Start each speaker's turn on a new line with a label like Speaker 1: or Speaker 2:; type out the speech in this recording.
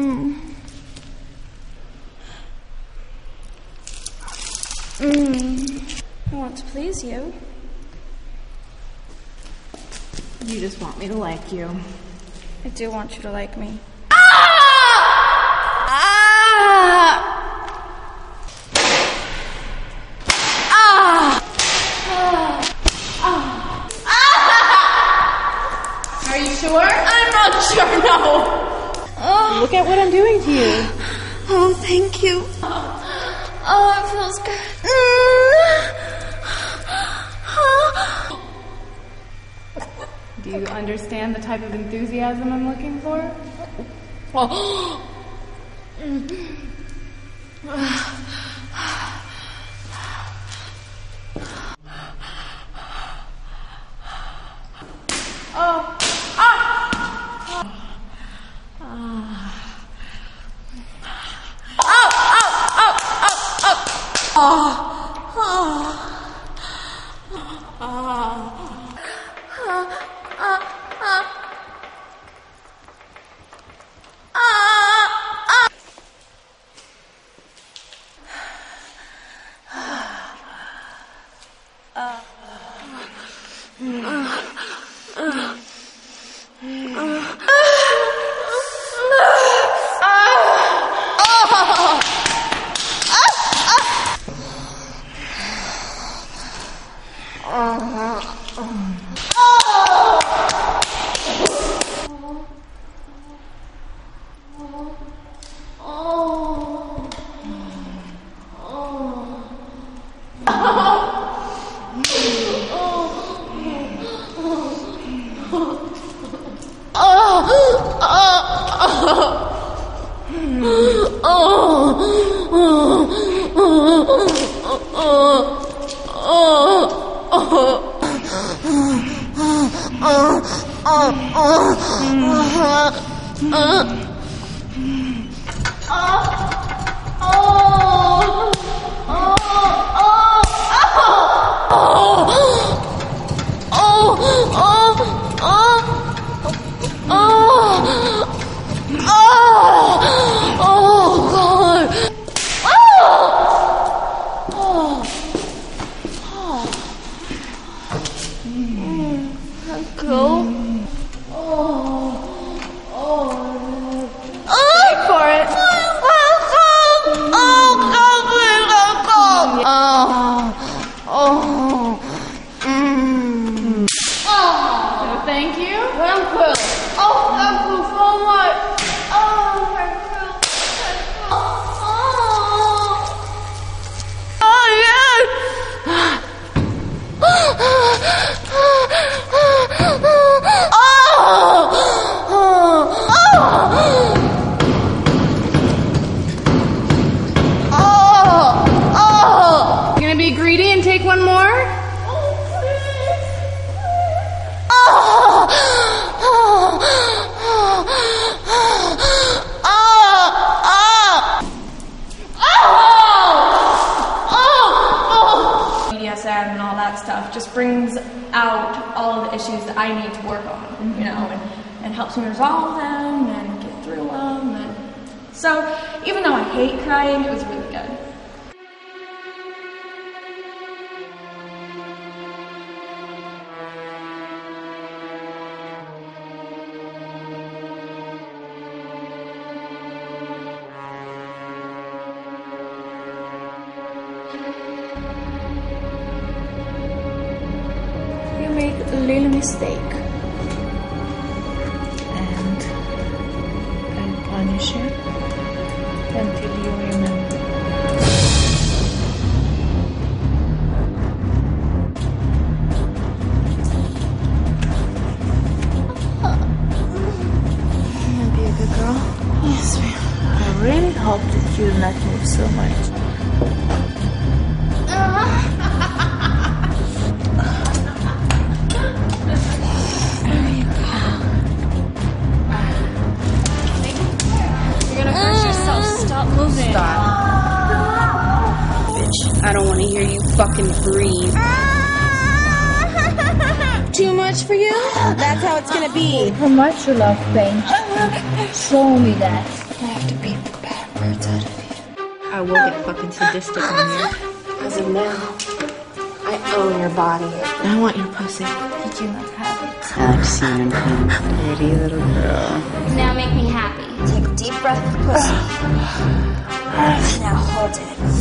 Speaker 1: I want to please you.
Speaker 2: You just want me to like you.
Speaker 1: I do want you to like me.
Speaker 2: Are you sure?
Speaker 1: I'm not sure, no.
Speaker 2: Look at what I'm doing to you.
Speaker 1: Oh, thank you. Oh, it feels good.
Speaker 2: Do you understand the type of enthusiasm I'm looking for? Thank you.
Speaker 1: Uncle. Oh, Uncle, so much. Oh, Uncle. Oh, yes.
Speaker 2: You gonna be greedy and take one more? BDSM and all that stuff just brings out all of the issues that I need to work on, you know, and helps me resolve them and get through them. And so even though I hate crying, it was really good.
Speaker 1: You make a little mistake.
Speaker 3: And I'll punish you until you remember.
Speaker 1: You'll be a good girl.
Speaker 3: Yes, ma'am. I really hope that you'll not move so much.
Speaker 1: You're gonna hurt yourself. Stop moving.
Speaker 4: Bitch, I don't want to hear you fucking breathe.
Speaker 1: Too much for you? That's how it's gonna be.
Speaker 3: How much you love pain? Show me that. I have to beat the bad words out of you.
Speaker 4: I will get fucking sadistic on you.
Speaker 5: As of now, I own your body.
Speaker 3: I want your pussy.
Speaker 2: Did you not have it?
Speaker 3: I like seeing him playing. Pretty little girl.
Speaker 1: Now make me happy.
Speaker 5: Take a deep breath of pussy. Now hold it.